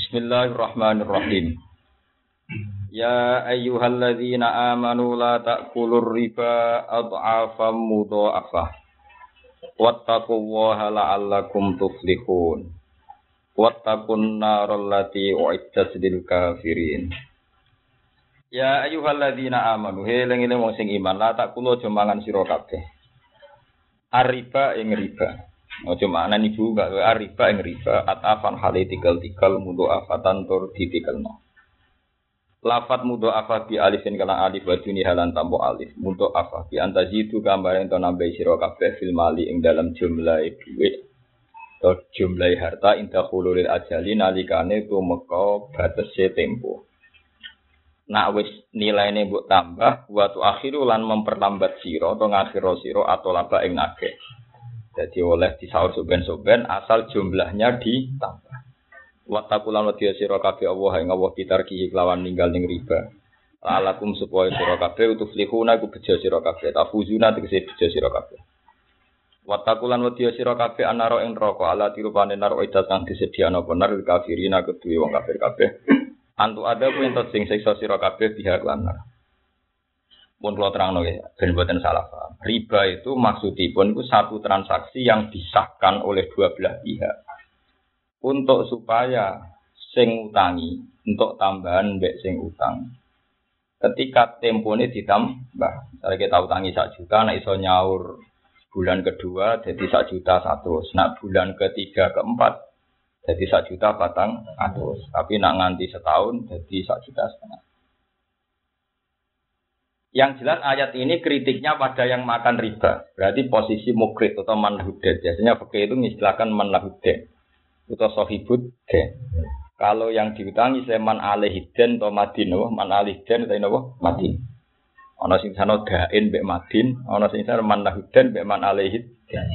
Bismillahirrahmanirrahim. Ya ayyuhalladzina amanu la ta'kulur riba adhafan mudha'afah. Wattaqullaha la'allakum tuflihun. Wattaqun naral lati u'iddat lil kafirin. Ya ayyuhalladzina amanu, eling-eling wong sing iman, la ta'kulu aja mangan sira kabeh. Ar-riba ing riba. Ojo makna ibu gak riba ing riba atafan hale tikel-tikel mudha'afatan tur ditikelno. Lafat mudha'afah bi alifin kana alif wa duni halan tampo alif. Mudha'afah bi antazidu gambar ento nambahi sira kabeh fil mali ing dalam jumlah dhuwit. To jumlah harta inda khululil ajali nalikane tumeka batese tempo. Nak wis nilaine mbok tambah wa tu akhiru lan memperlambat sira to ngakhiro sira atau laba ing akeh. Jadi oleh disaur soben-soben asal jumlahnya ditambah. Wattaqulan wa sira kabeh Allah ing Allah kitarki kelawan ninggal ning riba. Alakum supaya sira kabeh utuflihuna iku bejo sira kabeh tafuzuna tegese bejo sira kabeh. Wattaqulan wa sira kabeh anaro ing neraka ala tirupane naro idatang disediano bener kafirina kedue wong kafir kabeh. Antu ada ku entuk sing siksa sira kabeh pihak lan. Pun kula terangno ya, ben mboten salah paham. Riba itu maksudipun itu satu transaksi yang disahkan oleh dua belah pihak. Untuk supaya sing utangi untuk tambahan mbek sing utang. Ketika tempone ditambah, misalnya kita utangi 1 juta, nek iso nyaur bulan kedua jadi 1 juta 100, nak bulan ketiga keempat jadi 1 juta 400, tapi nak nganti setahun jadi 1,5 juta. Yang jelas ayat ini kritiknya pada yang makan riba. Berarti posisi mukrid atau manhuded. Biasanya fikih itu mengistilahkan manhuded atau sohibud den. Kalau yang diutangi seman alihiden atau madin, man alihiden atau madin. Ana sing sana dain mbek madin, ana sing sana manhuded mbek man alihid.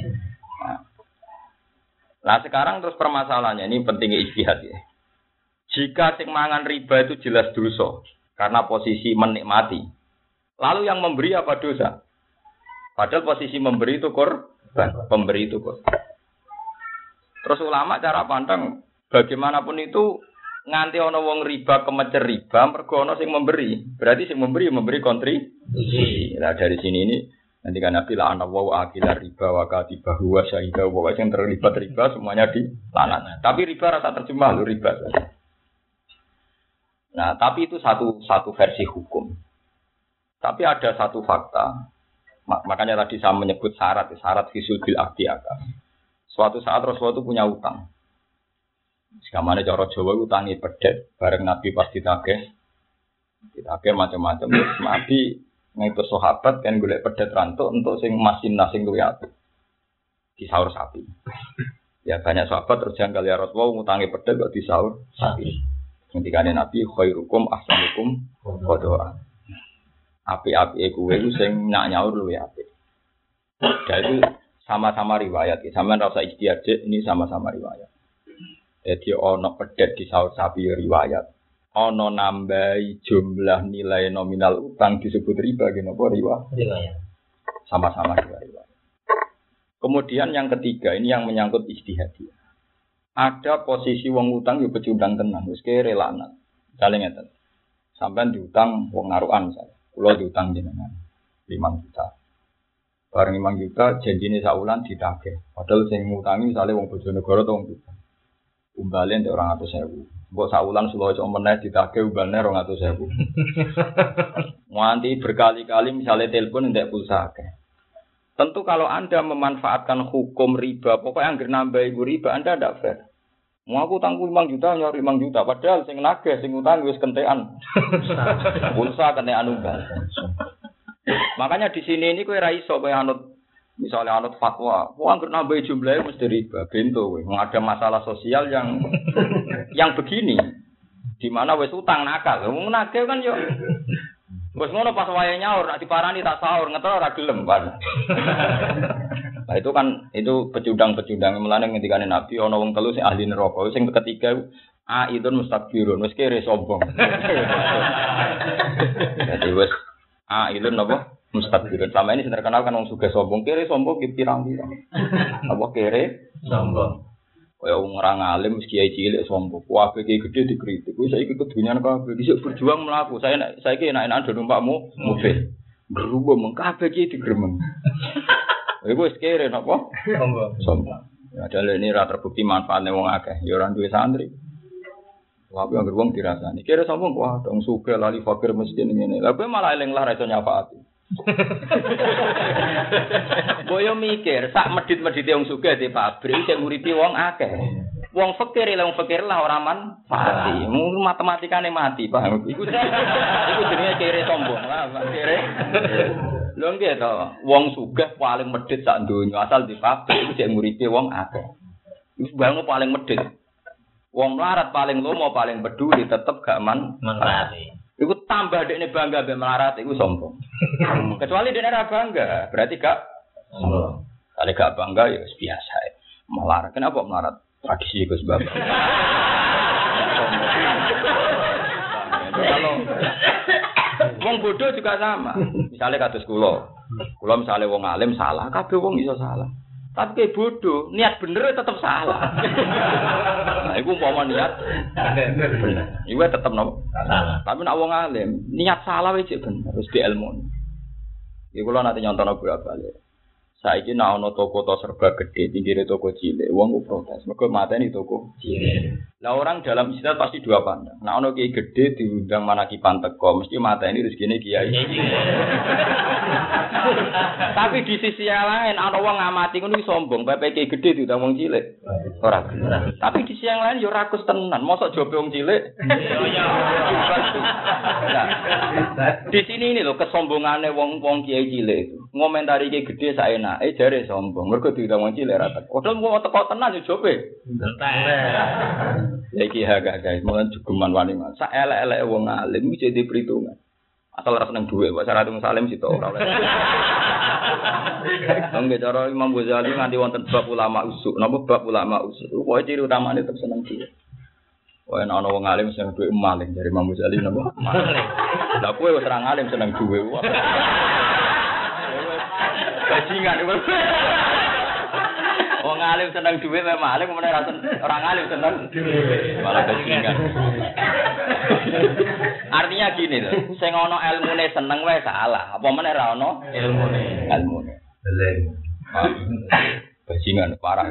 Nah sekarang terus permasalahannya ini pentingnya ijtihad ya. Jika sing mangan riba itu jelas dosa karena posisi menikmati. Lalu yang memberi apa dosa? Padahal posisi memberi itu korban, pemberi itu korban. Terus ulama cara pandang bagaimanapun itu nganti ana wong riba kemecer riba mergo ana sing memberi. Berarti sing memberi kontribusi. Nah dari sini ini nanti kan Nabi la'ana wa akila riba wa katibahu wa syahida wa yang terlibat riba semuanya dilaknat. Tapi riba rasa terjemah lho riba. Nah, tapi itu satu versi hukum. Tapi ada satu fakta, makanya tadi saya menyebut syarat fisul bil akdi akad. Suatu saat Rasulullah itu punya utang. Sekamane cara Jawa utangi pedet, bareng Nabi pas ditagih macam-macam. Nabi ngaitu sahabat kan golek pedet rantuk untuk sing masinah sing luwih apik. Disaur sapi. Ya banyak sahabat terus janggal ya Rasulullah ngutangi pedet kok disaur sapi. Ngendikane Nabi khairukum ahsanukum qadha. Api-api kuwe iku sing nyaur luwih apik. Dan itu sama-sama riwayat. Sampeyan ora usah ijtihad, ini sama-sama riwayat. Jadi ana pedet di saur sapi riwayat. Ana nambahi jumlah nilai nominal utang disebut riba napa riwayat. Sama-sama riwayat. Kemudian yang ketiga ini yang menyangkut ijtihad. Ada posisi wong utang yo pecundang tenan, wis kere lanat. Misale ngeten. Sampeyan diutang wong narukan misalnya. Kulo diutang jenengan 5 juta. Bareng 5 juta janjine saulan ditagih. Padahal sing ngutangi misale wong Bojonegoro to wong Tuban. Umbale ndek 200.000. Mbok saulan sulo cok meneh ditagih umbane 200.000. Nganti berkali-kali misale telepon ndek pulsa akeh. Tentu kalau Anda memanfaatkan hukum riba, pokoknya anggere nambah iku riba Anda ndak fair. Mau aku tanggung 5 juta, nyari 5 juta. Padahal sing nagih, sing utang wis kentekan. Pulsa kentekan umbal. Makanya di sini ini kowe ra iso kowe anut misalnya anut fatwa. Wong anggere nambah jumlahe mesti riba. Bento kowe. Ada masalah sosial yang begini. Di mana wis utang nakal. Wong nagih kan yo wis ngono pas wayahe nyaur, nek diparani tak sahur, ngetro ora gelem kan. Nah itu pecundang-pecundang melane ngendikane Nabi ana wong telu sing ahli neraka, sing ketiga aidun mustakbirun, wis kere sombong. Jadi wis aidun napa mustakbirun. Selama ini terkenal kan wong sugih sombong, kere sombong ki pirang-pirang. Apa kere sombong. Kaya wong ora ngalim mesti kiai cilik sombong. Kabeh kiai gedhe dikritik. Wis saiki kedunyan kabeh dhisik berjuang mlaku. Saiki enak-enakan do numpakmu mobil. Berubah mung kabeh kiai digremeng. Iku wis kere napa? Sombong. Ya dalem ini ra terbukti manfaatne wong akeh. Ya ora duwe santri. Wae anggere wong dirasani. Kira sombong wah dong sugih lali fakir miskin ngene. Lah kowe malah eling lah ra iso nyafaati. Boyo mikir, sak medhit-medhite wong sugih di pabrik sing nguripi wong akeh. Wong fakir lah ora manfaati. Matematikane mati, paham? Iku jenenge kere sombong lah, kere. Lho nggih to, wong sugih paling medhit sak donya asal di pabrik iku sing nguripi wong akeh. Iku bangun paling medhit. Wong melarat paling lomo paling peduli tetep gak manfaati. Iku tambah dekne bangga mbek melarat iku sombong. Kecuali dekne ora bangga, berarti gak sombong. Kalau gak bangga ya biasa. Melarat. Kenapa melarat? Tradisi Gus Bapak. Kalau wong bodoh juga sama. Misalnya kados kula. Kula misalnya wong alim salah, kabeh wong iso salah. Tapi kayak bodoh, niat bener tetap salah. Nah, iku umpama niat bener. Iku tetep nopo? Salah. Tapi nek wong alim, niat salah wis bener, wis diilmu. Iku kula nanti nyontono bolak-balik. Saiki nek ana toko serba gede, pinggire toko cilik, wong ku protes. Mergo mateni toko cilik. Lah orang dalam istilah pasti dua pandang. Nek ana kiai gede diundang manakipan teko, mesti mateni rezekine kiai. Tapi di sisi yang lain ana wong ngamati ngono sombong, bae kiai gede diundang wong cilik. Ora. Tapi di sisi yang lain yo rakus tenan, mosok jobe wong cilik. Di sini ini lho kesombongane wong kiai cilik itu. Ngomentari kiai gede saenak, jare sombong. Mergo diundang wong cilik ra teko. Padahal mau teko tenan yo jobe. Iki guys, mulai jugeman wani mas. Sak elek-elek wong alim iki jadi perhitungan. Asal ora seneng dhuwit, wae syarat wong salim sito ora oleh. Nggih cara Imam Ghazali nganti wonten bab ulama usuk. Napa bab ulama usuk? Pokoke ciri utamane tetep seneng dhuwit. Wae ana wong alim seneng dhuwit maling dari Imam Ghazali napa? Maling. Lah kowe wis ora alim seneng dhuwit. Bajingan. Wong alim seneng dhuwit memang alim meneh ora alim seneng dhuwit. Malah bajingan. Artinya gini lho, sing ana ilmune seneng wae salah. Apa meneh ra ana ilmune? Ilmune. Bajingan parah.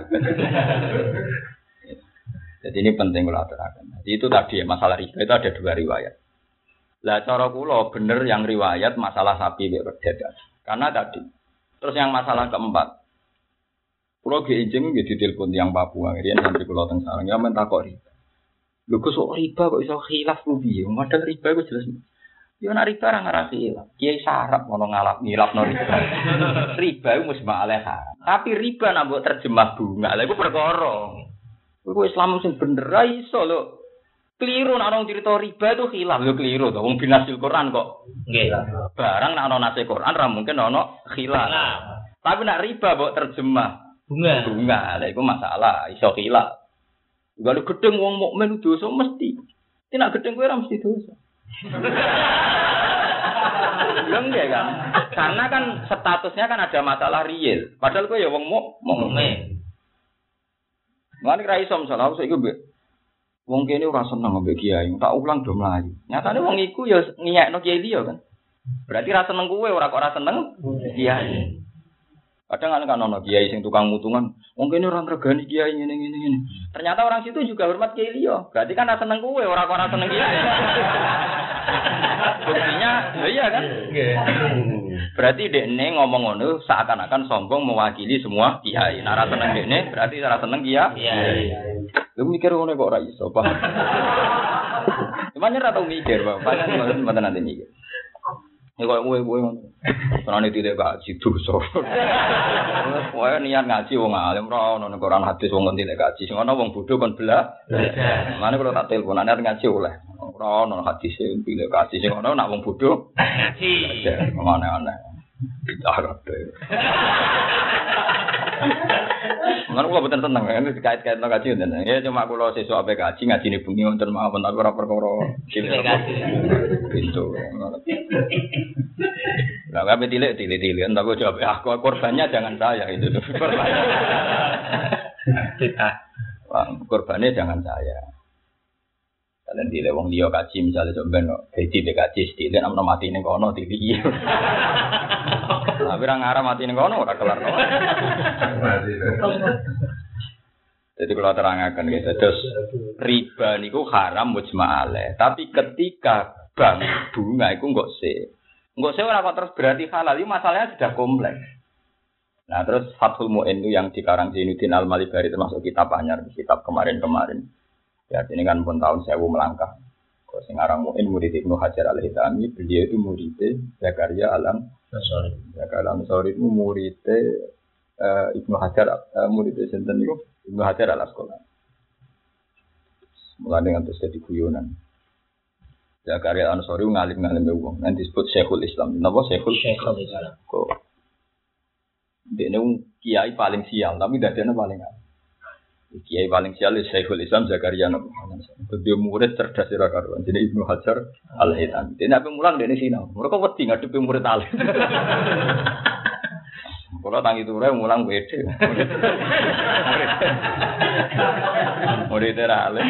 Jadi ini penting kalau aturaken. Jadi itu tadi masalah riba itu ada dua riwayat. Lah cara kula bener yang riwayat masalah sapi mek pedet. Karena tadi. Terus yang masalah keempat. Kulo ge ijeng nggih ditelepon tiyang Papua, riyen santri kula teng sareng ya men takok riba. Lho kok riba kok iso khilaf ku piye? Padahal riba iku jelas. Ya nek riba ora ngarasi khilaf. Kiai sarap ngono ngilafno riba. Riba iku mesti malah haram. Tapi riba nek mbok terjemah bunga, lha iku perkara. Iku Islam sing bener ra iso lho. Keliru nek ana cerita riba itu khilaf, lho keliru to. Wong binasil Quran kok. Nggih. Barang nek ana nase Quran ra mungkin ana khilaf. Tapi nek riba mbok terjemah bunga, lha iku masalah, iso khilaf. Kalau gedeng wong mukmin dosa mesti. Nek gedeng kowe ora mesti dosa. Enggak kan? Karena kan statusnya kan ada masalah real. Padahal kowe ya wong mukmin. Lan ra iso masalah saiki mbek wong kene ora seneng mbek kiai, tak ulang do mlayu. Nyatane wong iku ya ngiyekno kiai liya kan. Berarti ra seneng kowe ora kok ora seneng kiai. Kadang kan ono kiai sing tukang mutungan, wong kene ora ngregani kiai ngene. Ternyata orang situ juga hormat kiai liya. Berarti kan ora seneng kowe, ora kok ora seneng kiai. Buktinya, iya kan? Berarti dekne ngomong ngono seakan-akan sombong mewakili semua kiai. Nek ora seneng dekne, berarti ora seneng kiai. Lu mikir ngono kok ora iso, Pak. Cuman ora tau mikir, Pak. Padahal mboten nanti mikir. Ya kok kowe ngono. Karena tidak gaji dosa. Kowe niat ngaji wong alim ora ono nek Quran hadis wong tidak gaji. Sing ana wong bodho kon belah. Mane kalau tak telepon niat ngaji oleh. Ora ono hadis sing tidak gaji. Sing ana nek wong bodho ngaji. Aneh-aneh. Bidah kabeh. Lan kula boten seneng kan dikait-kaitno kaji ngoten. Ya cuma kula sesuk ape kaji ngajine bengi wonten mawon tapi ora perkara cilik. Pintu. Lah kabeh tilik-tilik entar kok jawab aku korbannya jangan saya itu. Korbannya jangan saya. Kalian di lewong dia kaji misalnya coba no, jadi dia kaji sedih, nama mati nih kono tinggi. Tapi orang Arab mati nih kono udah kelar. Jadi kalau terangkan gitu, terus riba niku haram mujma'ale. Tapi ketika bank bunga itu nggak sih orang terus berarti halal. Ini masalahnya sudah kompleks. Nah terus Fathul Mu'in itu yang dikarang Zainuddin Al-Malibari termasuk kitab Anyar, kitab kemarin-kemarin. Ya ini kan pun tahun 1000 melangkah. Kalau sekarang Mu'in murid Ibnu Hajar Al-Haytami, beliau itu murid Zakaria Al-Ansari. Zakaria Al-Ansari itu murid Ibnu Hajar, murid sinten niku Ibnu Hajar Al-Asqalani. Mulai dengan terus jadi guyonan. Zakaria Al-Ansari ngalim-ngalim wong, nanti disebut Syekhul Islam. Napa Syekhul Islam? Kok dene kiai paling sial, tapi dadane paling apik. Kiai paling sial Syekhul Islam Zakaria Al-Ansari. Dia murid cerdas ora karuan. Jadi Ibnu Hajar Al-Haytami. Dene ape mulang dene sinau. Mereka wedi ngadepi murid alim. Kalau tangi ture mulang beda. Murid alim.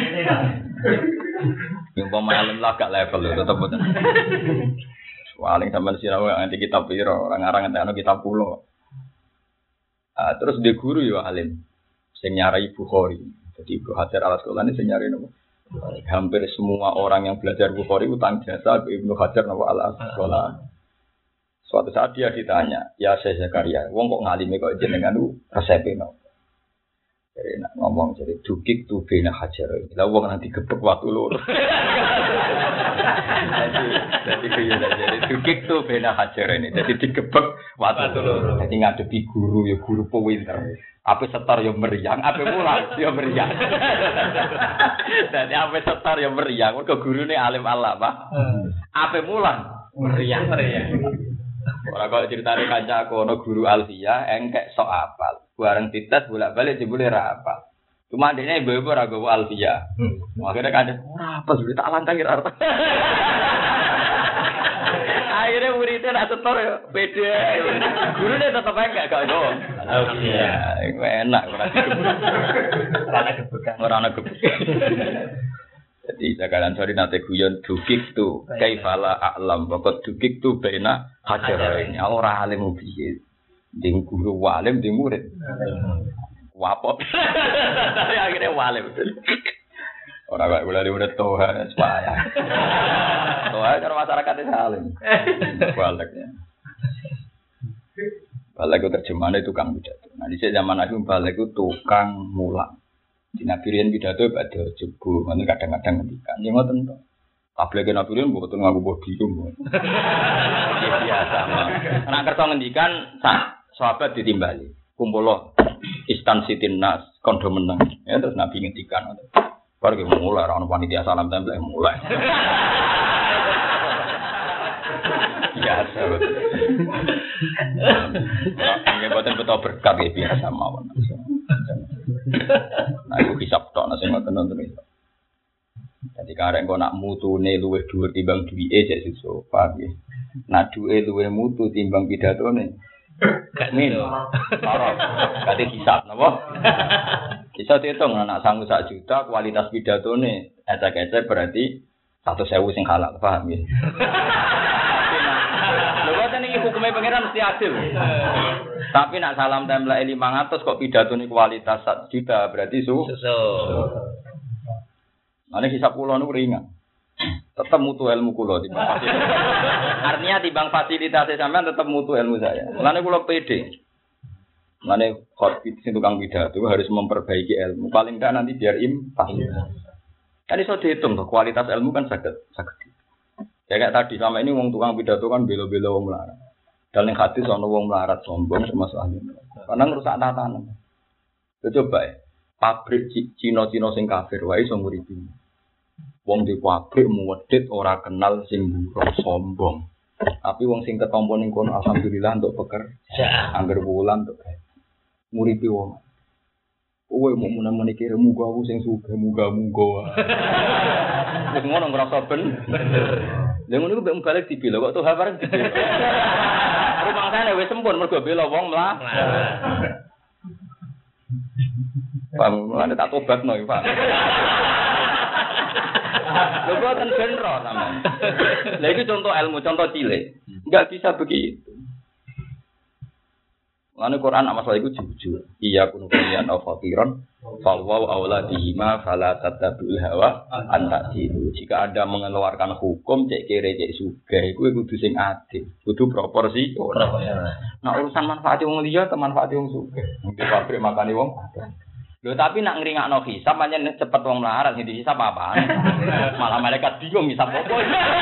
Yang pemain lah gak level tetap betul. Paling sampai sinau nanti kitab piro orang-orang nanti kitab pulau. Terus dia guru ya alim. Sing nyarai Bukhari. Jadi Ibnu Hajar Al-Asqalani sing nyarai napa? Hampir semua orang yang belajar Bukhari utang jasa ke Ibnu Hajar Al-Asqalani. Suatu saat dia ditanya, "Ya Syekh Zakaria, wong kok ngalime kok jenengan resepe napa?" Jadi nak ngomong jadi dukik tu bena Hajar. Lah wong nanti gebek waktu lur. Jadi kaya jadi dukik tu bena Hajar ini. Jadi digebek waktu lur. Jadi ngadepi guru ya guru pinter. Apa setar yang meriang, apa mulang yang meriang. Jadi apa setar yang meriang, mereka guru ini alim Allah, Pak. Apa mulang meriang. Orang kalau ceritanya kanca aku, no guru Alfia, engkek sok apal. Bareng titas bolak-balik jebule ra apal. Cuma adiknya ibu-ibu ora gowo Alfia. Akhirnya kanca ora apal, sudah tak lantangi rata. Akhirnya muridnya nak setor ya, beda. Gurunya tetap enggak ada. Iya, enak orang gebuk. Jadi Zakaria sorry nate guyon dukik tu, kaifala a'lam, pokok dukik tu bena hajarain. Ora alim piye. Ding guru walim ding murid. Wapot. Akhirnya walim. Ora kok kula diurut toha supaya. Toha cara masyarakat salim. Baliknya. Balik itu terjemahannya tukang pidato. Nah di zaman aku balik itu tukang mulang. Di Nabirin pidato pada jebu, mana kadang-kadang ngendikan. Yang ngoten to. Tabligh Nabirin mboten nganggo podium. Biasa mah. Nek kersa ngendikan sahabat ditimbali. Kumpulo istansitin nas kondo meneng. Ya terus Nabi ngendikan. Baru ke mulai orang panitia salam tempel mulai. Biasa betul. Ini betul berkat ya biasa mawon. Nah, aku hisap tok nasi nonton itu. Jadi karek kau nak mutu ne luwe dhuwur timbang duwike jek sesuk, paham ya. Nak duwe luwe mutu timbang pidatone. Gak min. Ora. Kate hisap napa? Bisa dihitung anak sanggup 1 juta kualitas pidatone ecek-ecek berarti 100.000 sing halal, paham ya. Lho kok niki hukume pangeran mesti adil. Tapi nak salam template 500 kok pidatone kualitas 1 juta berarti Ane hisab kula niku ringan. Tetap mutu ilmu kula timbang fasilitas. Artinya timbang fasilitas sampean tetap mutu ilmu saya. Mulane kula pede. Mulane khotbah sing tukang pidato harus memperbaiki ilmu. Paling enggak nanti biar impas. Kan iso dihitung tuh kualitas ilmu kan saged. Ya kayak tadi sama ini wong tukang pidato kan bela-bela wong melarat. Dan ning hadis ana wong melarat sombong termasuk ahli. Karena ngerusak tatanan. Coba ya. Pabrik Cina-Cina sing kafir wae iso nguripi. Wong di pabrik muwedhit ora kenal sing buruk sombong. Tapi wong sing ketompo ning kono alhamdulillah untuk pekerja. Angger wulan untuk nguripi wong. Kowe mau menawa mikir muga aku sing sugih muga-muga. Wis ngono ngrasa bener. Lha ngono ku mbek balik dibela kok tuh bareng dibela. Rumangsane wis sempun mergo bela wong mlarat. Paham, ada tak tobat no, Pak. Lho boten benro sampean. Lah iki contoh ilmu, contoh cilik. Enggak bisa begitu. Lalu Quran masalah itu jujur. Iya kun kalian fakiron, fawwau auladihima fala tatabul hawa antadilu. Jika Anda mengeluarkan hukum cek kere cek sugih, iku kudu sing adil, kudu proporsi. Nah urusan manfaat wong liya ke manfaat wong sugih. Di pabrik makani wong. Lho tapi nak ngringakno hisab pancen cepet wong melarat sing dihisab apaan. Malah malaikat bingung hisab opo.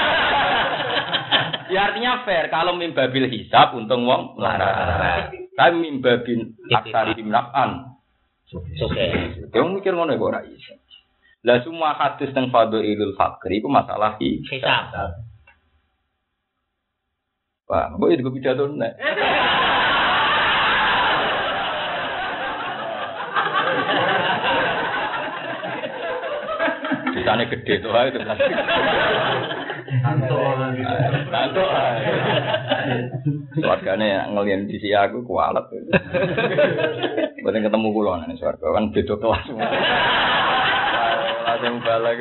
Ya artinya fair kalau mimbabil hisab untung wong melarat. Tapi mimbabin aksari dimnafan. Oke. Dia mikir ngono kok ora iso. Lah semua hadis teng fadhailul fakri iku masalah hisab. Wah, kok itu pidato nek. Ditane gede to ae to. Tantuk. Wargane ngelian di sisi aku kualet. Mboten ketemu kula nang swarga kan beda kelas. Langsung balik.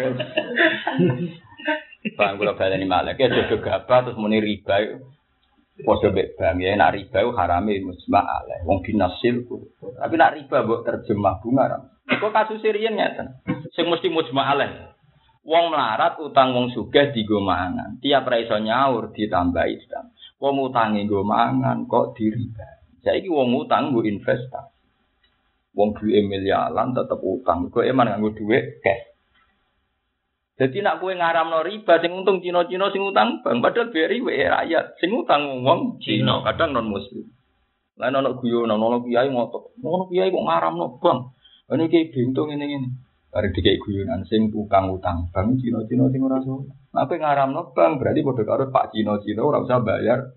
Bang kula baleni malih ke jodoh gabah terus muni riba. Padha mek bang ya nek riba harame musma aleh wong binasil. Tapi nek riba mbok terjemah bunga. Kok kasus riyen ngeten. Sing mesti musma aleh. Wong melarat utang wong sugih digo mangan. Tiap ra iso nyaur ditambahi utang. Wong utange nggo mangan kok diriba. Saiki wong utang nggo investasi. Wong duwe miliaran tetep utang. Kok eman nganggo dhuwit cash. Dadi nek kowe ngaramno riba sing untung Cina-Cina sing utang bang padahal beri wae rakyat. Sing utang wong Cina kadang non muslim. Lah ono guyonan ono kiai ngotot. Ono kiai kok ngaramno bang. Ini kiai bintu ngene-ngene. Bareng dikek guyonan sing tukang utang bang Cina-Cina sing ora iso. Nek kowe ngaramno bang berarti padha karo Pak Cina-Cina ora usah bayar.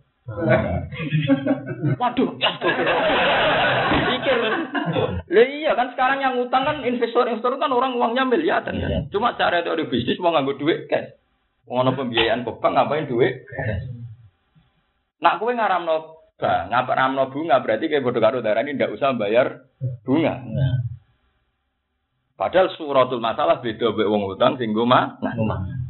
Waduh, pikir. Lah iya kan sekarang yang utang kan investor-investor kan orang uangnya miliaran kan. Cuma cara teori bisnis mau nganggo duit cash. Mau ono pembiayaan ke bank ngapain duit? Nak kowe ngaramno bang, ngaramno bunga berarti kayak padha karo darani ndak usah bayar bunga. Padahal suratul masalah beda mbek wong utang sing nggo mangan.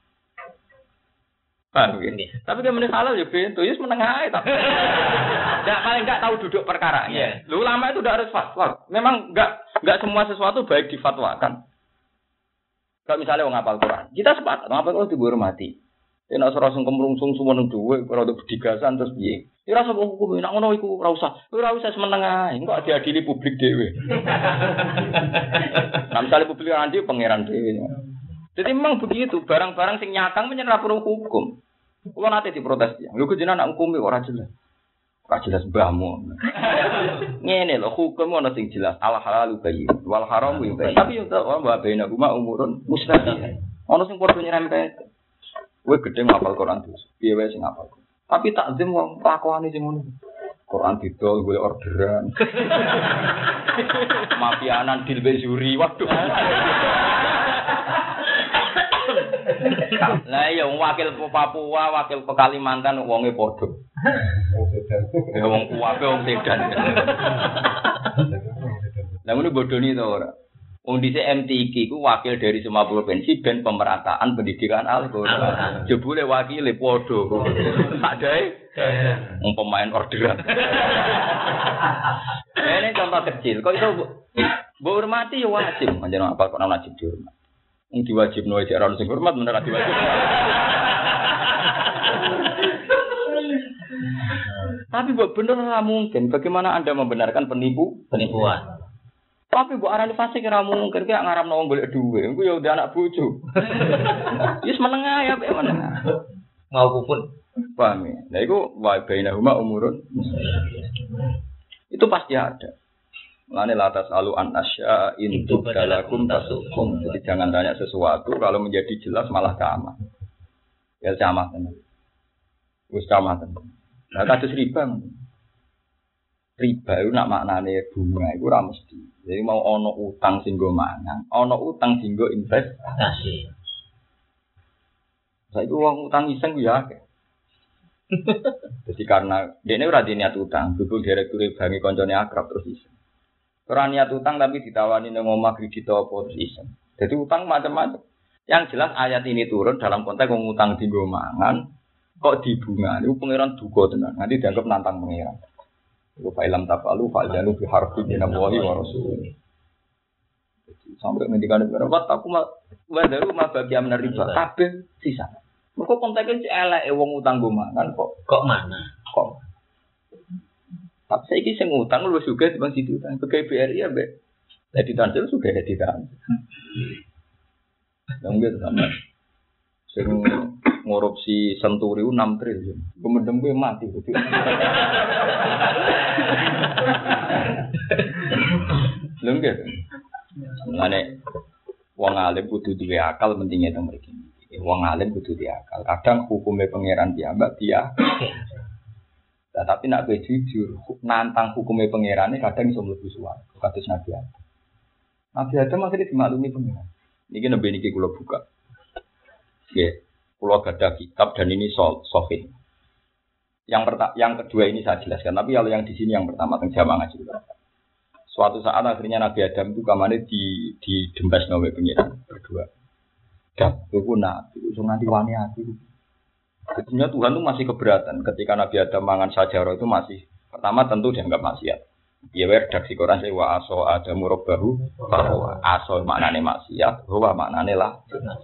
Paham ya? Tapi kan meneh halal ya bento, ya menengah ae tapi. Enggak paling enggak tahu duduk perkaranya. Lu ulama itu udah harus fatwa. Memang enggak semua sesuatu baik difatwakan. Kalau misalnya wong hafal Quran, kita sepakat ngapal Quran dihormati. Nek ora sing kemrungsung sumen dhuwit ora untuk bedigasan terus piye? Ya ora usah hukum nek ngono iku ora usah. Ora usah semeneng ae, engko diadili publik dhewe. Misale publik nanti pangeran dhewe. Jadi memang begitu, barang-barang sing nyakang menyerah perlu hukum. Kulo nate diprotes ya. Lho kok jenengan nak hukumi ora jelas. Ora jelas mbahmu. Ngene lho, hukum ana sing jelas. Al halalu bayyin wal haramu bayyin. Tapi yo wa baina huma umurun mustaqil. Ana sing padha nyerempet. Kowe gedhe ngapal Quran terus. Piye wae sing ngapal. Tapi takzim wong lakuane sing ngono. Quran didol golek orderan. Mafianan dil bezuri. Waduh. Lah ya wakil Papua, wakil Kalimantan wonge padha. Ya wong kuwabe wong sedan. Lah ngono bodoni to ora. Wong dhisik MTQ ku wakil dari semua provinsi ben pemerataan pendidikan Al-Qur'an. Jebule wakile padha. Tak dae wong pemain orderan. Ini contoh kecil. Kok itu mbok hormati ya wajib. Panjenengan apa kok ana wajib dihormati. Wong diwajibno aja ora sing hormat bener ora diwajib. Tapi buat bener ora mungkin. Bagaimana Anda membenarkan penipuan? Tapi mbok arani fasik ora mungkin ki ngaramno wong golek dhuwit. Engko ya udah anak bojo. Wis menengah ya mek menengah. Mau pun paham ya. Lah iku wa bainahuma umurun. Itu pasti ada. Lane latas alu an asya intu dalakum tasukum. Jadi jangan tanya sesuatu kalau menjadi jelas malah camat. Ya camat tenan. Wis camat tenan. Lah kados riba. Riba itu nak maknane bunga iku ora mesti. Jadi mau ono utang sing nggo mangan, ono utang sing nggo investasi. Saiki wong utang iseng ku ya akeh. Jadi karena dene ora diniat utang, kudu direktur bangi koncone akrab terus iseng. Ora niat utang tapi ditawani nang omah kredit apa terus iso. Jadi utang macam-macam. Yang jelas ayat ini turun dalam konteks wong utang dienggo mangan kok dibunga. Niku pangeran duka tenan. Nanti dianggap nantang pangeran. Iku fa'ilam tafalu fa'janu bi harfi minallahi wa rasulih. Sampai ngendikan berapa aku madaru mabagi amna riba kabeh sisa. Mergo konteke eleke wong utang go mangan kok mana? Kok. Tapi saiki sing utang luwih sugih timbang situ utang. Pegawai BRI ambek dadi tansel sugih dadi tansel. Yang gitu sama. Sing ngorupsi Senturi 6 triliun. Gumedem kuwi mati. Lho gitu. Mulane wong alim kudu duwe akal pentingnya teng mriki. Wong alim kudu duwe akal. Kadang hukume pangeran piyambak dia. Nah, tapi nak jujur, nantang hukumnya pangerane kadang iso mlebu swarga. Kados Nabi Adam. Nabi Adam akhirnya dimaklumi pangeran. Niki nembe niki kula buka. Nggih, kula gadah kitab dan ini sahih. Yang kedua ini saya jelaskan, tapi kalau yang di sini yang pertama teng jamaah ngaji. Suatu saat akhirnya Nabi Adam itu kamane di dembas nawe pangeran berdua. Dak, kowe nabi, iso nganti wani aku. Sebetulnya Tuhan itu masih keberatan ketika Nabi Adam mangan sajarah itu masih pertama tentu dianggap maksiat. Ya redaksi Quran saya wa aso adamu robbahu bahwa aso maknane maksiat, bahwa maknane lah.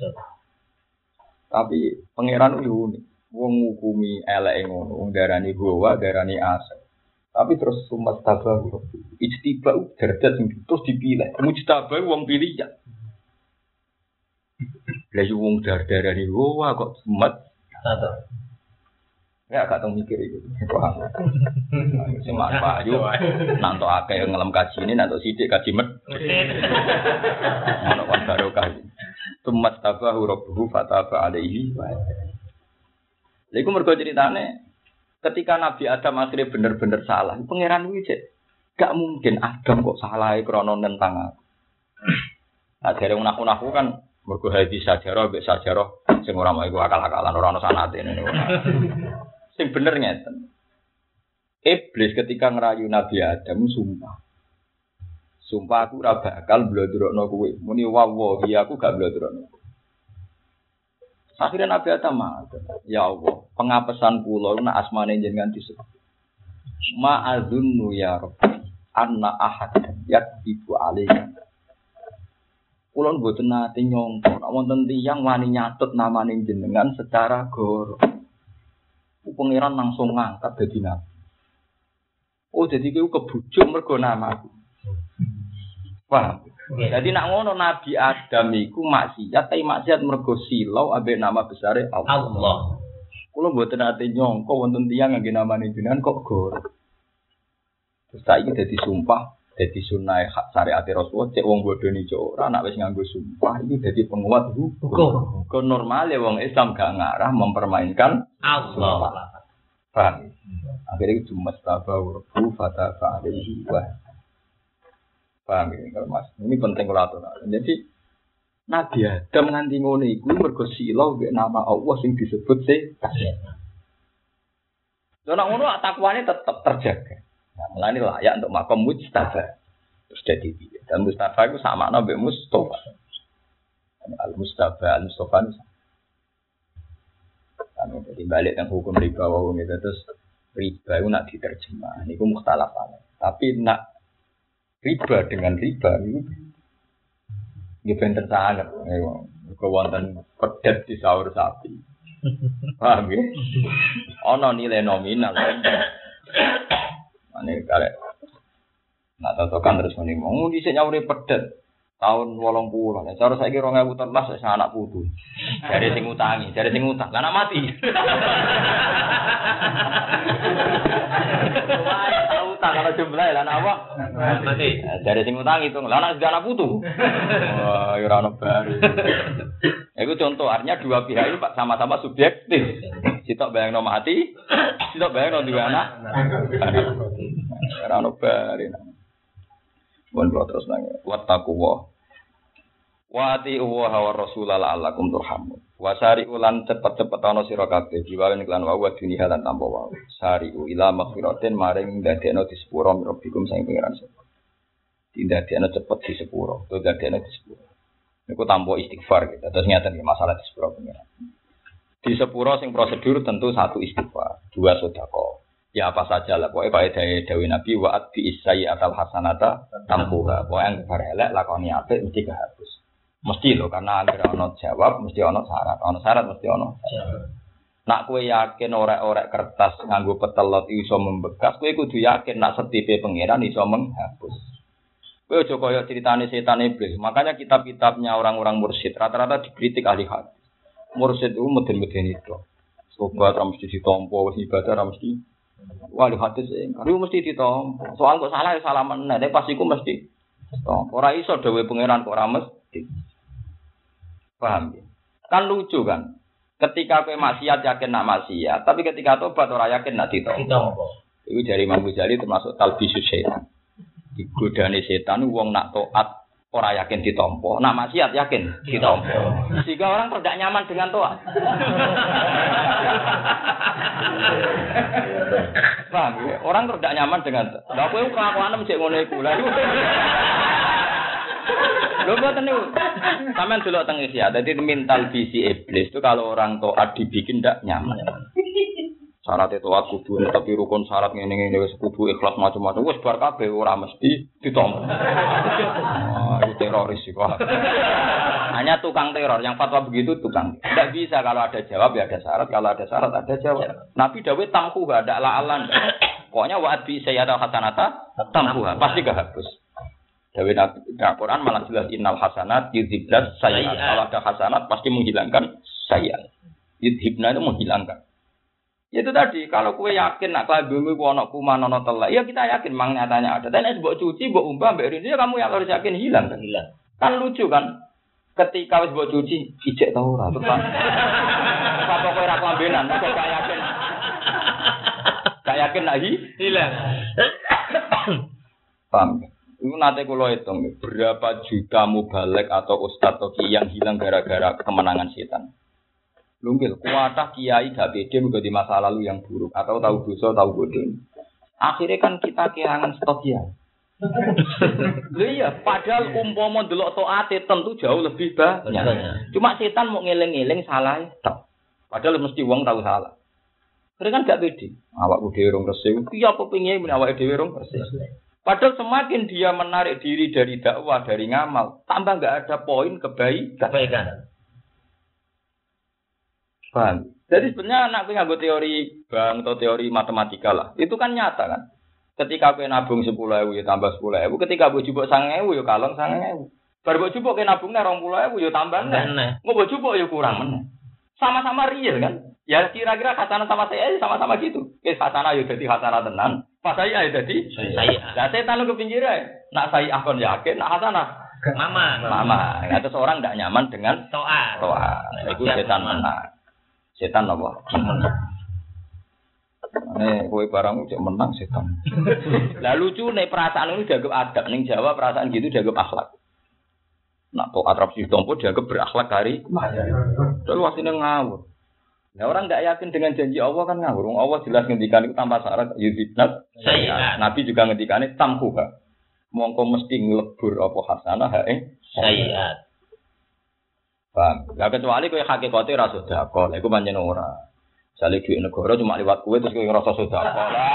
Tapi pangeran itu unik. Wong ngukumi eleke ngono, wong darani bahwa darani aso. Tapi terus sumat tabahu. Ijtibau derajat terus dipilih. Mujtabah wong pilih ya. Lah wong darani bahwa kok sumat ya gak tau mikir itu. Paham. Sing manfaat yo nanto akeh ngelem kaji ini nanto sithik kaji med. Ono kan barokah. Tumat tabahu rabbuhu fataba alaihi wa. Lha iku mergo ceritane ketika Nabi Adam akhirnya bener-bener salah, pangeran kuwi cek gak mungkin Adam kok salah krana nentang aku. Akhire unak-unakku kan mergo hadis sajarah mbek sajarah sing ora mau iku akal-akalan ora ono sanate ngene. Sing bener ngeten. Iblis ketika ngerayu Nabi Adam sumpah. Sumpah aku ora bakal blodrokno kowe. Muni wallahi aku gak blodrokno. Akhirnya Nabi Adam matur, ya Allah, pengapesan kula nek asmane jenengan disebut. Ma'adzunnu ya Rabbi anna ahadan yakdibu alaihi. Kula mboten nate nyangka nek wonten tiyang wani nyatut namane jenengan secara goro. Pangeran langsung ngangkat dadi nabi. Oh, jadi kowe kebujuk mergo namaku. Paham? Jadi nak ngono Nabi Adam iku maksiat, tapi maksiat mergo silau ambek nama besare Allah. Kula mboten nate nyangka wonten tiyang ngangge namane jenengan kok goro. Terus saiki dadi sumpah. Jadi sunai hak syariat Rasulullah cek wong bodoh ni cok ora nak wis nganggo sumpah ini jadi penguat hukum. Kon normal ya wong Islam gak ngarah mempermainkan Allah. Paham? Akhirnya cuma tabawu rabbu fataba alaihi wa. Paham ya kalau Mas. Ini penting kula aturaken. Jadi Nabi Adam nganti ngono iku mergo silau mek nama Allah sing disebut kasih. Lha nek ngono takwane tetep terjaga. Nah, mulane layak untuk makom Mustafa. Terus jadi dia. Dan Mustafa itu sama nabi Mustafa. Al Mustafa itu. Kami jadi balik yang hukum riba wau gitu terus riba itu nak diterjemah. Ini ku mukhtalaf alaih. Tapi nak riba dengan riba itu bener sangat. Kewonten pedet di sahur sapi. Paham ya? Ono nilai nominal. Ane kare. Nak totokan terus muni mau dhisik nyauri pedet tahun 80. Nek cara saiki 2013 wis anak putu. Jare sing utangi, jare sing utang. Lah anak mati. Wah, utang kalau jumlah lah anak apa? Mati. Jare sing utang itu. Lah anak anak putu. Wah, ora ono bar. Iku contoh artinya dua pihak itu sama-sama subjektif. Sitok bayangno mati, sitok bayangno duwe anak. Ora ono bare. Bon terus nang wattaqwa. Wa ati'u wa rasul la'allakum turhamun. Wa sari'u lan cepet-cepet ana sira kabeh diwawen iklan wa dunya lan tanpa wa. Sari'u ila maghfiratin maring dadekno disepuro mirabikum sing pengiran sapa. Tidak dia cepet di sepuro, itu tidak dia di sepuro. Itu tanpa istighfar gitu. Terus ngeten masalah di sepuro pengiran. Di sepuro sing prosedur tentu satu istighfar, dua sedekah. Ya apa saja lah, pokoknya kayak Dawi Nabi wa'at bi isai atal hasanata tampuha. Pokoknya yang berhelek lakoni apik mesti kehapus. Mesti loh, karena agar ono jawab mesti ono syarat mesti ono. Nak kowe yakin orek-orek kertas nganggo petelot iso membekas, kowe kudu yakin nak setipe pangeran iso menghapus. Kowe aja kaya ceritane setan iblis. Makanya kitab-kitabnya orang-orang mursyid rata-rata dikritik ahli hadis. Mursyid itu meden-meden itu. Sobat ra mesti ditampa, wis ibadah ra mesti. Wah, ahli hadis iku mesti ditampa. Soal kok salah ya salah meneh, pas iku mesti ditampa. Ora iso dhewe pangeran kok ora mesti. Paham ya? Kan lucu kan? Ketika kowe maksiat yakin nak maksiat, tapi ketika tobat ora yakin nak ditampa. Iku dari Imam Ghazali termasuk talbisus syaitan. Digodane setan wong nak taat ora yakin ditampa, nak maksiat yakin ditampa. Sehingga orang tidak nyaman dengan taat. Paham ya? Orang tidak nyaman dengan taat. Lah kowe kelakuane mesti ngono iku. Lah lho boten niku. Sampeyan delok teng Ihya. Dadi mental visi iblis itu kalau orang taat dibikin ndak nyaman. Syarat itu kudu tapi rukun syarat ngene-ngene wis kudu ikhlas macam-macam wis bar kabeh ora mesti ditampa. Itu teroris sih kok. Hanya tukang teror yang fatwa begitu tukang. Tidak bisa kalau ada jawab ya ada syarat, kalau ada syarat ada jawab. Nabi Dawud tamku gak ada la'alan. Pokoknya wa'ad bi sayyada hasanata tamkuha pasti gak hapus. Dawud Nabi Al-Qur'an malah jelas innal hasanat yudhibnas sayyi'at. Kalau ada hasanat pasti menghilangkan sayyi'at. Yudhibna itu menghilangkan. Itu tadi, kalau kue yakin nak kelabimu ku ana kuman ana telek, ya kita yakin mang nyatanya ada. Dan es mbok cuci, mbok umbah, mbok rindu, ya kamu yang harus yakin hilang. Kan lucu kan? Ketika wis mbok cuci, ijek ta ora, terus kan. Apa kowe ra kelambenan, kok gak yakin. Gak yakin nak hilang. Paham? Itu nanti kalau hitung, berapa juta mubalek atau ustadz atau kiai yang hilang gara-gara kemenangan setan. Lungkil, kuatah kiai gak pede menjadi masa lalu yang buruk atau tahu dosa, tahu bodoh. Akhirnya kan kita kehilangan stok kiai. Iya, padahal umpama delok taate tentu jauh lebih banyak. Cuma setan mau ngeling-eling salah tok. Padahal mesti wong tahu salah. Mereka kan gak pede. Awakku dhewe rong resik. Iya apa pengin awake dhewe rong resik. Padahal semakin dia menarik diri dari dakwah, dari ngamal, tambah gak ada poin kebaikan. Paham? Jadi sebenarnya anak nganggo teori bank atau teori matematika lah. Itu kan nyata kan. Ketika kowe nabung 10.000 ya tambah 10.000, ketika mbok jupuk 9.000 ya kalong 9.000. Bar mbok jupuk ke nabungne 20.000 ya tambah meneh. Mbok jupuk ya kurang meneh. Sama-sama real kan? Ya kira-kira hasanah sama saya sama-sama gitu. Hasanah ya dadi hasanah tenan, pas saya ya dadi saya. Lah setan ku pinggir ae. Nak saya akon yakin, nak hasanah mama. Ada seorang enggak nyaman dengan toa. Itu setan menang. Setan apa? Kowe barang cek menang setan. Lah lucu nek perasaan ini dianggap adab ning Jawa perasaan gitu dianggap akhlak. Nak tok atraksi tompo dianggap berakhlak hari. Terus wasine ngawur. Nah orang enggak yakin dengan janji Allah kan ngawur. Allah jelas ngendikan itu tanpa syarat yudhibnat sayyi'at. Nabi juga ngendikane tamkuha. Mongko mesti nglebur apa hasanah sayyi'at. Bang, lah kecuali kowe hakikate ra sedekah, lha iku pancen ora. Jale duit negara cuma liwat kowe terus kowe ngrasa sedekah.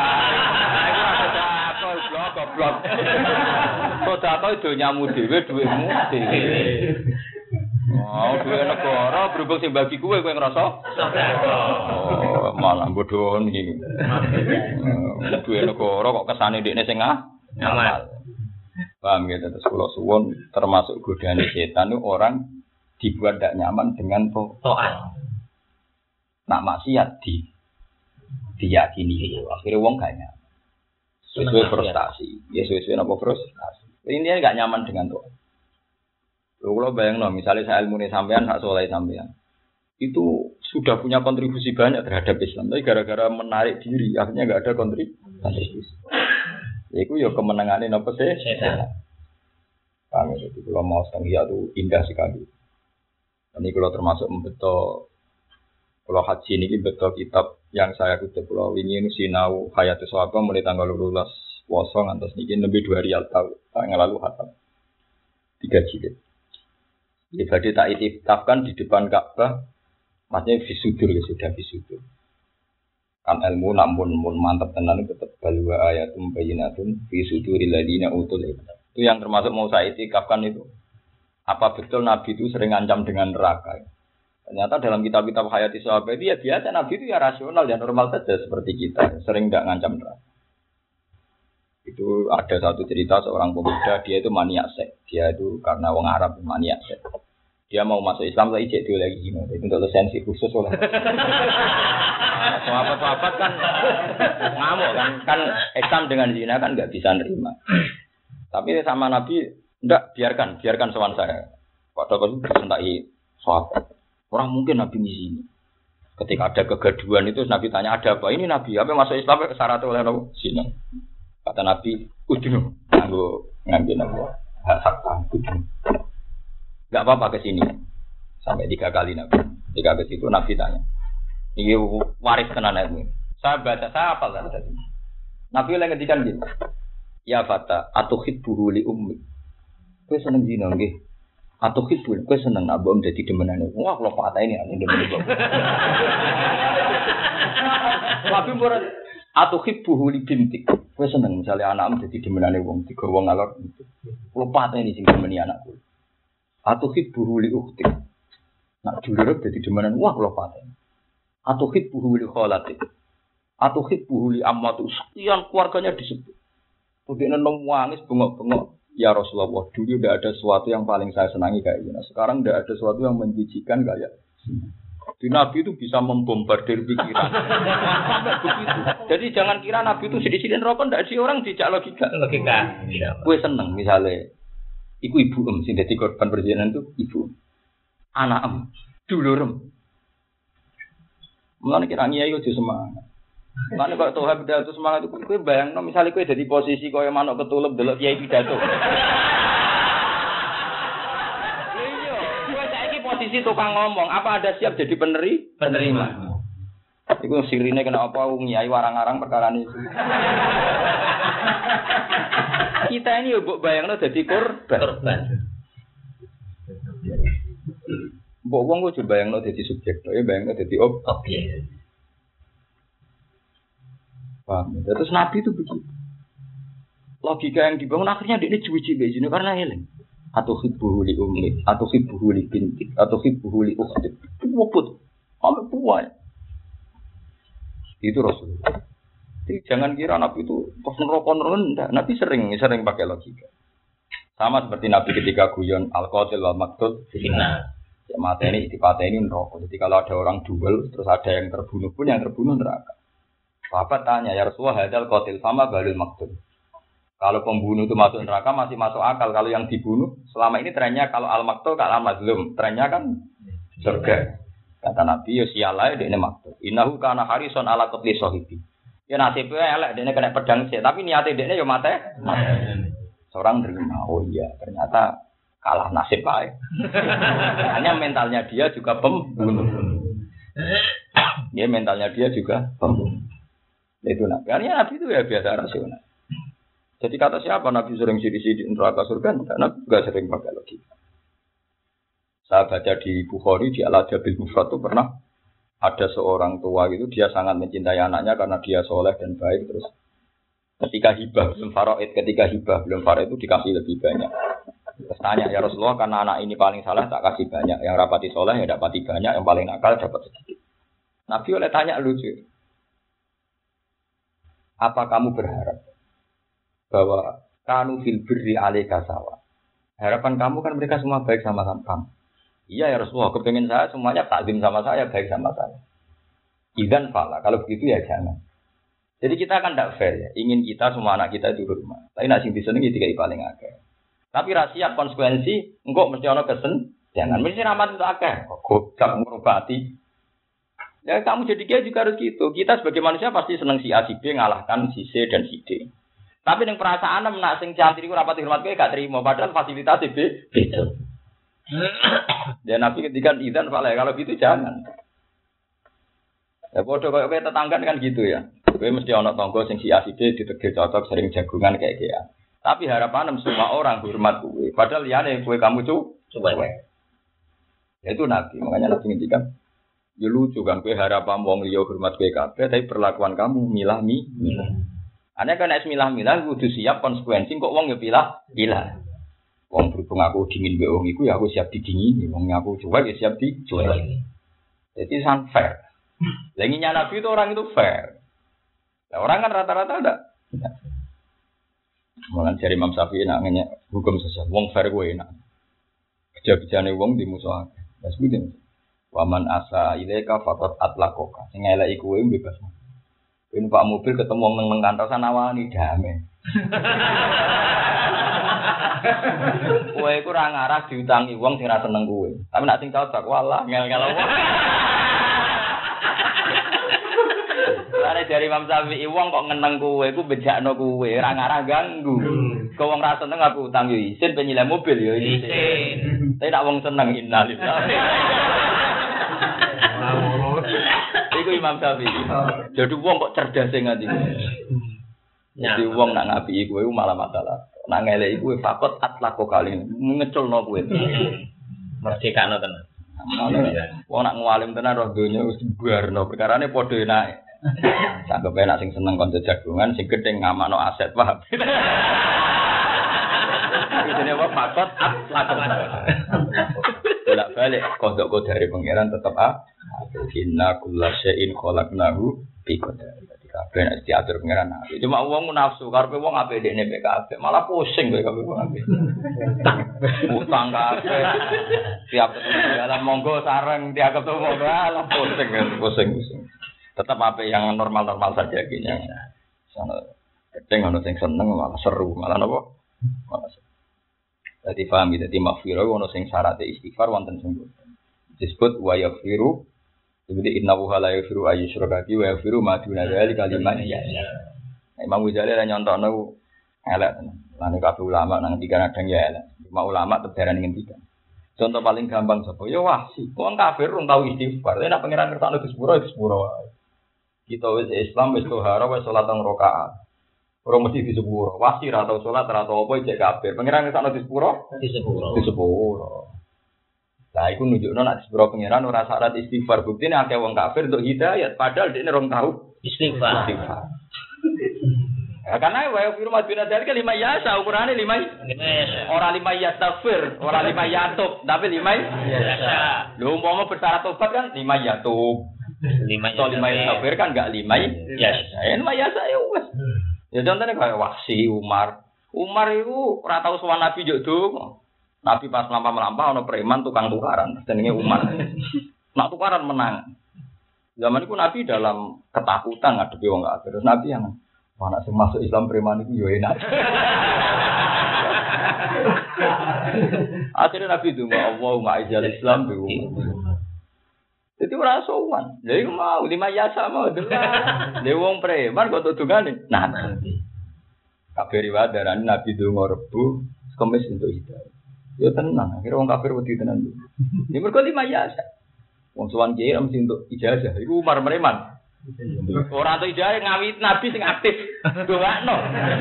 Lah, iku sedekah goblok. Sedekah itu nyamu dhewe duitmu dhewe. Oh, duit negara berhubung sing bagi kowe ngrasa sedekah. Oh, malah bodho iki. Duit negara kok kesane ndekne sing ngamal. Paham gitu terus kula suwun termasuk godane setan itu orang dibuat tidak nyaman dengan to'at. Nak maksiat diyakini. Akhirnya wong gak nyaman. Sesuai frustasi. Ya sesuai apa frustasi. Ini gak nyaman dengan to'at. Kalau bayang misalnya saya ilmu sampean, hak soleh sampean. Itu sudah punya kontribusi banyak terhadap Islam. Tapi gara-gara menarik diri, akhirnya gak ada kontribusi. Itu ya kemenangannya apa sih? Kami itu kalau mau setengah itu indah sekali. Ini kalau termasuk membetul, kalau haji ini betul kitab yang saya kutip kalau ingin sinau hayatus sahabat mulai tanggal 12 poso ngantos niki lebih 2 rial tahun lalu hatam 3 jilid. Ya badhe tak itikafkan di depan Ka'bah, maksudnya fisudur ya sudah fisudur. Kan ilmu namun mantap tenan tetap balwa ayatum bayyinatun fi suduril ladina utul ilm. Itu yang termasuk mau saya itikafkan itu. Apa betul Nabi itu sering ngancam dengan neraka? Ternyata dalam kitab-kitab hayati sahabat itu ya biasa Nabi itu ya rasional ya normal saja seperti kita, sering tidak ngancam neraka. Itu ada satu cerita seorang pemuda dia itu maniak seks. Dia itu karena wong Arab maniak seks. Dia mau masuk Islam lagi cek lagi gini. Itu untuk lisensi khusus oleh. Sahabat-sahabat kan ngamuk kan Islam dengan zina kan nggak bisa nerima. Tapi sama Nabi enggak biarkan sowan saya. Padahal itu disentai sahabat. Orang mungkin Nabi di sini. Ketika ada kegaduhan itu Nabi tanya ada apa? Ini Nabi apa masuk Islam syarat oleh Nabi zina. Kata Nabi, udinu, ngambil nama hak udinu. Gak apa-apa ke sini. Sampai 3 kali Nabi. 3 ke situ Nabi tanya. Ini waris tenan ilmu. Saya baca, saya hafal kan tadi. Nabi lagi ngedikan gitu. Ya fata, atuhibbuhu li ummi. Kowe seneng zina nggih. Atuhibbu, kowe seneng abang dadi demenane. Wah, kula patah ini ane demen kok. Nabi murah atuhibbuhu li bintik. Kowe seneng misale anakmu dadi demenane wong digawa ngalor. Kula patah ini sing demeni anakku. Atuhibbuhu li ukhti. Nak dulure dadi demenan wah kula patah. Atuhibbuhu li khalati. Atuhibbuhu li ammatu. Sekian keluarganya disebut. Udine nang wangis bengok-bengok. Ya Rasulullah, dulu tidak ada sesuatu yang paling saya senangi kayak gini. Sekarang tidak ada sesuatu yang menjijikan kayak di Nabi itu bisa membombardir pikiran. Begitu. Jadi jangan kira Nabi itu sedih-sedih rokok, tidak sih orang dijak logika. Gue seneng misalnya, ibu sing dadi korban perzinahan itu ibu, anak dulurem. Mulane kira ngiyai aja semangat. Mulane kok toha pidato semangat itu kowe bayangno misale kowe dadi posisi kaya manuk ketulup delok kiai pidato. Iya, kowe saiki posisi tukang ngomong, apa Anda siap jadi penerima? Iku sirine kena apa ngiyai warang-arang perkara ini. Kita ini yo mbok bayangno dadi korban. Mbok wong kok bayangno dadi subjek, ya bayangno dadi objek. Paham. Terus Nabi itu begitu. Logika yang dibangun akhirnya dia cuci bejine karena eling. Atau hibbuhu li ummi, atau hibbuhu li bintik, atau hibbuhu li ukhti. Wobot. Sampai puas. Itu Rasulullah. Jadi jangan kira Nabi itu pas neraka rendah. Nabi sering pakai logika. Sama seperti Nabi ketika guyon al-qatil wal maqtul fitnah. Ya mata ini dipateni neraka. Jadi kalau ada orang duel terus ada yang terbunuh pun yang terbunuh neraka. Sahabat tanya, ya Rasulullah, hadal qatil sama balul maktul. Kalau pembunuh itu masuk neraka masih masuk akal. Kalau yang dibunuh selama ini trennya kalau al maktul kalau mazlum, trennya kan surga. Kata Nabi, ya sialai dekne maktul. Innahu kana harison ala qatli sahibi. Ya nasibnya elek dekne kena pedang sih, tapi niate dekne ya mate. Seorang terima, oh iya, ternyata kalah nasib baik. Hanya mentalnya dia juga pembunuh. Ya mentalnya dia juga pembunuh. Itu Nabi. Karena Nabi itu ya biasa rasional. Jadi kata siapa Nabi sering sidik-sidik neraka surga? Nabi juga sering pakai logika. Saya baca di Bukhari di Al-Adabil Mufrad itu pernah ada seorang tua gitu dia sangat mencintai anaknya karena dia soleh dan baik terus. Ketika hibah belum faraid itu dikasih lebih banyak. Terus tanya ya Rasulullah karena anak ini paling salah tak kasih banyak, yang rapati soleh ya dapati banyak, yang paling nakal dapat sedikit. Nabi oleh tanya lucu. Apa kamu berharap bahwa kanu fil birri alaika sawa? Harapan kamu kan mereka semua baik sama kamu. Iya ya Rasulullah, kepengen saya semuanya takdim sama saya, baik sama saya. Idan fala, kalau begitu ya jangan. Jadi kita kan tidak fair ya, ingin kita semua anak kita itu rumah. Tapi nak sing disenengi dikai paling akeh. Tapi rahasia konsekuensi, engkau mesti ono kesen, jangan mesti rahmat itu akeh. Kok gak ngurubati. Ya kamu jadi kiai juga harus gitu. Kita sebagai manusia pasti senang si A, si B ngalahkan si C dan si D. Tapi yang perasaan nak sing cantik iku rapati hormat kowe gak terima padahal fasilitas B beda. Dan Nabi ketika idan fala kalau gitu jangan. Ya bodoh koyo tetangga kan gitu ya. kowe mesti ana tangga sing si aside ditegir cocok sering jagungan kayak. Tapi harapan semua orang hormat kowe. Padahal liyane kowe kamu coba. Ya itu Nabi, makanya Nabi ngendikan, ya lucu kan kowe harapan wong liya hormat kowe kabeh tapi perlakuan kamu milah-milah. Ane kan nek milah-milah kudu siap konsekuensi kok wong ya pilah. Wong berhubung aku dingin mbek wong iku ya aku siap didingini, wong aku cuek ya siap dicuek. Jadi sangat fair. Lenginya Nabi itu orang itu fair. Nah, orang kan rata-rata ada. Malah dari Imam Syafi'i nak ngenyek hukum sosial, wong fair gue enak. Kerja-kerjane wong dimusuhake. Wes kuwi. Waman asa ilaika faqat atlaqoka. Sing eleki kowe bebas. Kowe Pak mobil ketemu wong nang kantor sanawani damai. Kowe iku ora ngarah diutangi wong sing ra seneng kowe. Tapi nek sing cocok walah ngel-ngel wong. Lare dari Imam Syafi'i wong kok ngeneng kowe iku bejakno kowe, ora ngarah ganggu. Kok wong ra seneng aku utang yo isin penyileh mobil yo isin. Tapi nak wong seneng innalillahi. Iku Imam Syafi'i. Jadi wong kok cerdas sing ngati. Jadi wong nak ngapi kowe malah masalah. Nak ngeleki kowe fakot atlaqo kali ngeculno kowe. Merdekano tenan. Wong nak ngalim tenan roh donya wis buarno perkarane padha enake. Sanggep enak sing seneng kanca jagungan sing gedhe ngamakno aset paham. Ini apa fakot atlaqo. Bolak-balik kodok dari pangeran tetap inna kullasyai'in khalaqnahu biqadar. Jadi kabeh nek diatur pangeran. Cuma wong nafsu karepe wong apik dekne mek kabeh, malah pusing kowe kabeh wong apik. Utang kabeh. Tiap ketemu dalam monggo sareng tiap ketemu malah pusing. Tetap apik yang normal-normal saja kayaknya. Sono keteng ono sing seneng malah seru, malah napa? Malah jadi paham gitu, jadi maghfirah ono sing syaratnya istighfar wonten sing disebut wa yaghfiru. Jadi innahu la yaghfiru ayyushraka bihi wa yaghfiru ma duna dzalika liman yasha. Imam Ghazali lan nyontokno elek tenan. Lan kabeh ulama nang tiga kadang ya elek. Cuma ulama tebaran ngendikan. Contoh paling gampang sapa? Ya wahsi. Wong kafir rung tau istighfar. Nek pangeran ngertakno di sepuro wae. Kita wis Islam wis tohara wis salat teng rakaat. Orang mesti di sepuro, wasi atau sholat atau apa cek kafir. Pangeran ngesakno di sepuro, di sepuro. Lah iku nunjukno nek di sepuro pangeran ora syarat istighfar. Buktine akeh wong kafir untuk hidayat, padahal dekne rong tahu istighfar. Ya, karena wa firman bin Adzal ke 5 yasa ukurane 5 ora 5 yastaghfir, ora 5 yatub, tapi 5 yasa. Lho umpama bersyarat tobat kan 5 yatub. 5 yastaghfir kan enggak 5 yasa. Ya 5 yasa ya wis. Ya contohnya kayak Wahsi, Umar itu ora tau sowan Nabi njuk donga. Nabi pas mlampah-mlampah ana preman tukang tukaran, jenenge Umar. Nak tukaran menang. Zaman itu Nabi dalam ketakutan ngadepi wong kafir. Terus Nabi yang anak sing masuk Islam preman itu yo enak. Akhirnya Nabi donga Allahumma ijal Islam bi jadi ora sowan. Lha iku mau 5 yasa mau delok. Lha wong preman kok dungane. Nah. Kabeh riwayat darane Nabi donga Rebo, Kamis untuk hidayah. Yo tenang, akhire wong kafir wedi tenan. Ya mergo 5 yasa. Wong sowan kiai mesti untuk ijazah. Iku Umar preman. Ora entuk ijazah ngawit Nabi sing aktif. Dongakno.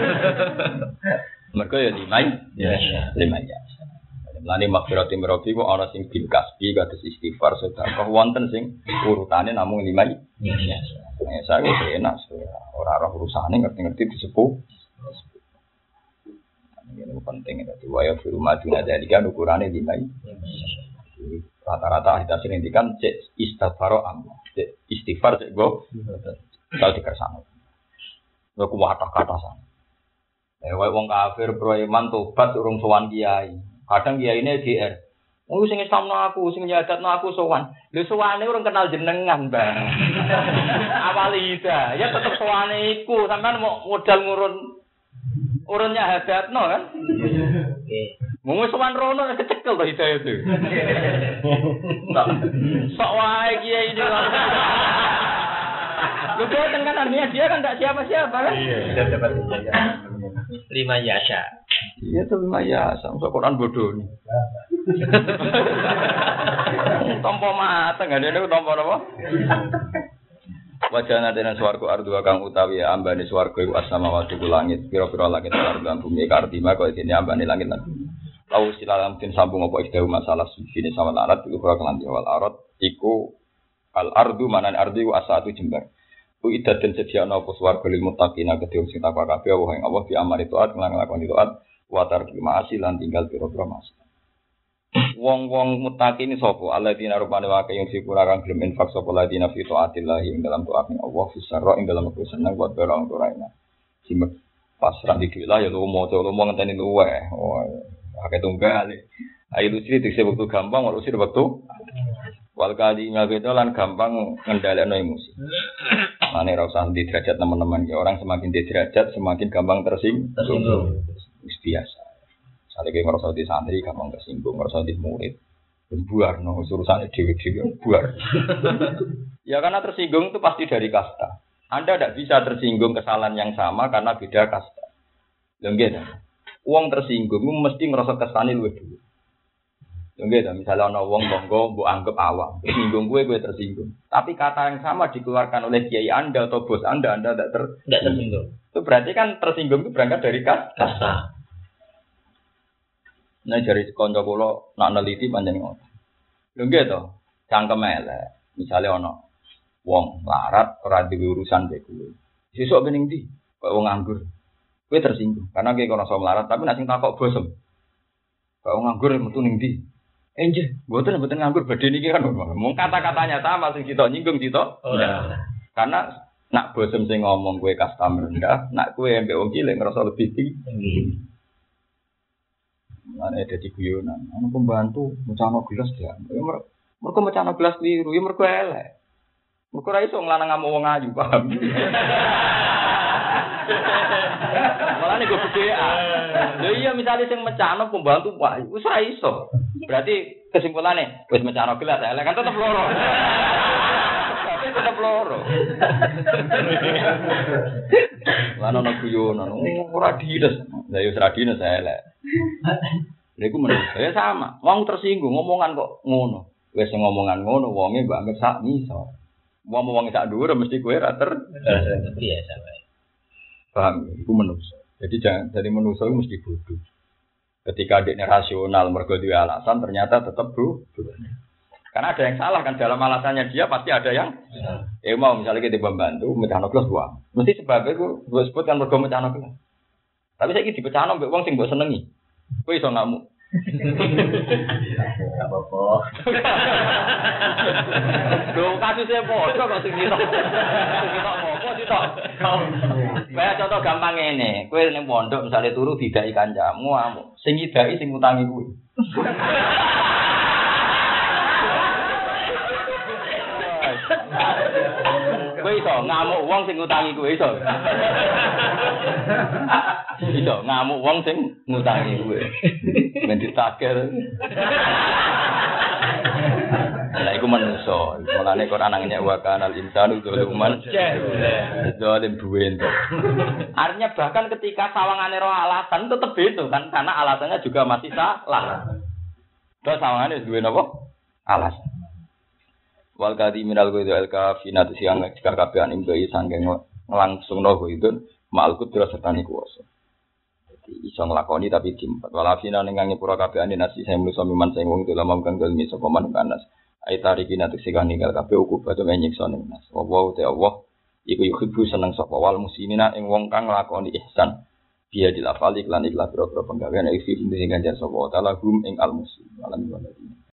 Mergo yo 5 yasa. 5 yasa. Lani maghfirati mirrobi kok ana sing bil kasbi kados istighfar sedekah wonten sing urutane namung 5 biasa. Nek saya wis enak ora urusane ngerti-ngerti disepuh. Ini penting dadi wae firu maduna dalika ukurane 5. Rata-rata kita sering ngendikan cek istighfar amma. Cek istighfar cek go kalau dikersane. Lha ku kata-kata sana. Wae wong kafir pro iman tobat urung sowan kiai. Kadang dia ini GR. Oh sing Islamno aku, sing nyadatno aku sowan. Lho sowane urung kenal jenengan, Bang. Awali ida, ya tetep sowane iku, sampean mau modal urun nyadatno kan? Nggih. Mung sowan rono kecekel to hidayah itu. Sok wae kiai ini. Lho boten kan artinya dia kan enggak siapa-siapa kan? Iya, dapat ijazah. 5 yasa. Iya tuh 5 yasa, masuk Quran bodoh nih. Tompo mata, nggak ada tompo apa? Wajana dene swarga ardu kang utawi ambane swarga iku as-samawati ku langit pira-pira langit lan bumi kartima kok dene ambane langit lan bumi. Lau silalam tin sambung apa iku masalah sujine sama larat iku ora kelan wal arat iku al ardu manan ardu iku asatu jembar. Ku idaden sediakno apa swarga lil muttaqina kedhe sing takwa kabeh Allah ing Allah di amari taat nglakoni taat wa tarki ma'asi lan tinggal pira-pira ma'asi. Wong-wong muttaqin sapa alladzina rupane wae yang sipura kang gelem infak sapa alladzina fi taatillah ing dalam taat ning Allah fi sarra ing dalam aku seneng buat barang ora simek pasrah di lah ya lu mau ngenteni luwe oh akeh tunggal ayo luci dikse waktu gampang wae luci waktu wal kali ngageto lan gampang ngendhalekno emosi mane ora usah di derajat teman-teman ya orang semakin di derajat semakin gampang tersinggung wis biasa. Sale ki ngrasa di santri gampang tersinggung, ngrasa di murid. Buar no urusane dhewe-dhewe buar. Ya karena tersinggung itu pasti dari kasta. Anda tidak bisa tersinggung kesalahan yang sama karena beda kasta. Lho nggih ta. Wong tersinggung mesti ngrasa kastane luwih dhewe. Lho nggih ta, misale ana wong monggo mbok anggap awam, tersinggung kowe tersinggung. Tapi kata yang sama dikeluarkan oleh kiai Anda atau bos Anda tidak tersinggung. Itu berarti kan tersinggung itu berangkat dari kasta. Nah dari kanca kula nak neliti pancen ngono. Lho nggih to, cangkem elek. Misale ana wong larat ora duwe urusan mbek kowe. Sesuk bening ndi? Kok wong nganggur. Kowe tersinggung karena kowe kono iso melarat tapi nek sing takok bosem. Kok wong nganggur metu ning ndi? Nggih, mboten nganggur badhe niki kan mung kata-katanya sama sing kita nyinggung kita. Karena nak bosem sing ngomong kowe kasta rendah, nak kowe mbek wong cilik ngerasa lebih tinggi. Ana dadi guyonan, ana pembantu mecano gelas ya. Mergo mecano gelas kliru, ya mergo elek. Mergo ora iso nglanang ngamuk wong ayu, paham. Malah nek gedhean. Lho iya misale sing mecano pembantu ayu, wis ora iso. Berarti kesimpulane wis mecano gelas elek kan tetep loro. Tetep loro. Lan ana guyonan, ora dides. Lah yo ora dides elek. Lha iku menurut saya sama. Wong tersinggung ngomongan kok ngono. Wis ngomongan ngono wonge mbok anggap sak miso. Wong sak dhuwur mesti kowe ra biasa wae. Paham? Iku manusa. Jadi jangan dari manusa itu mesti bodoh. Ketika adiknya rasional mergo duwe alasan ternyata tetap bodoh. Karena ada yang salah kan dalam alasannya dia pasti ada yang mau misalnya kita membantu mecano gelas uang. Mesti sebabnya gue sebut kan mergo mecano gelas. Tapi saya iki dipecano mbek wong sing mbok senengi. Kowe iso ngamuk. Enggak apa-apa. Lho kasusnya padha kok sing kita. Kita apa sitok. Kayak contoh gampang ngene, kowe ning pondok misale turu didaki kancamu ngamuk. Sing ngidaki sing ngutangi kuwi. Kowe iso ngamuk wong sing ngutangi kowe iso. Iso ngamuk wong sing ngutangi kowe. Ben ditaker. Lah iku manusa. Mulane Quran nang nyek wa kanal insanu dzuluman. Zalim duwe entuk. Artinya bahkan ketika sawangane ro alasan tetep itu kan karena alasannya juga masih salah. Terus sawangane duwe napa? Alasan. Wal kadi minal ghaidu al kafina siang jika kabehan ing bayi sanggeng nglangsungno ghaidu mal kudra sertane kuwasa. Dadi iso nglakoni tapi dimpat. Walafina ning ngepura kabehan nasi saya manusa miman sing wong dalam kang dalmi sapa man kanas. Ai tariki nate sing ninggal kabeh uku batu nyiksa ning nas. Wa te Allah iku yuhibbu seneng sapa wal muslimina ing wong kang nglakoni ihsan. Dia dilafali lan ikhlas pira-pira penggawean iki sing ganjar sapa taala gum ing al muslim.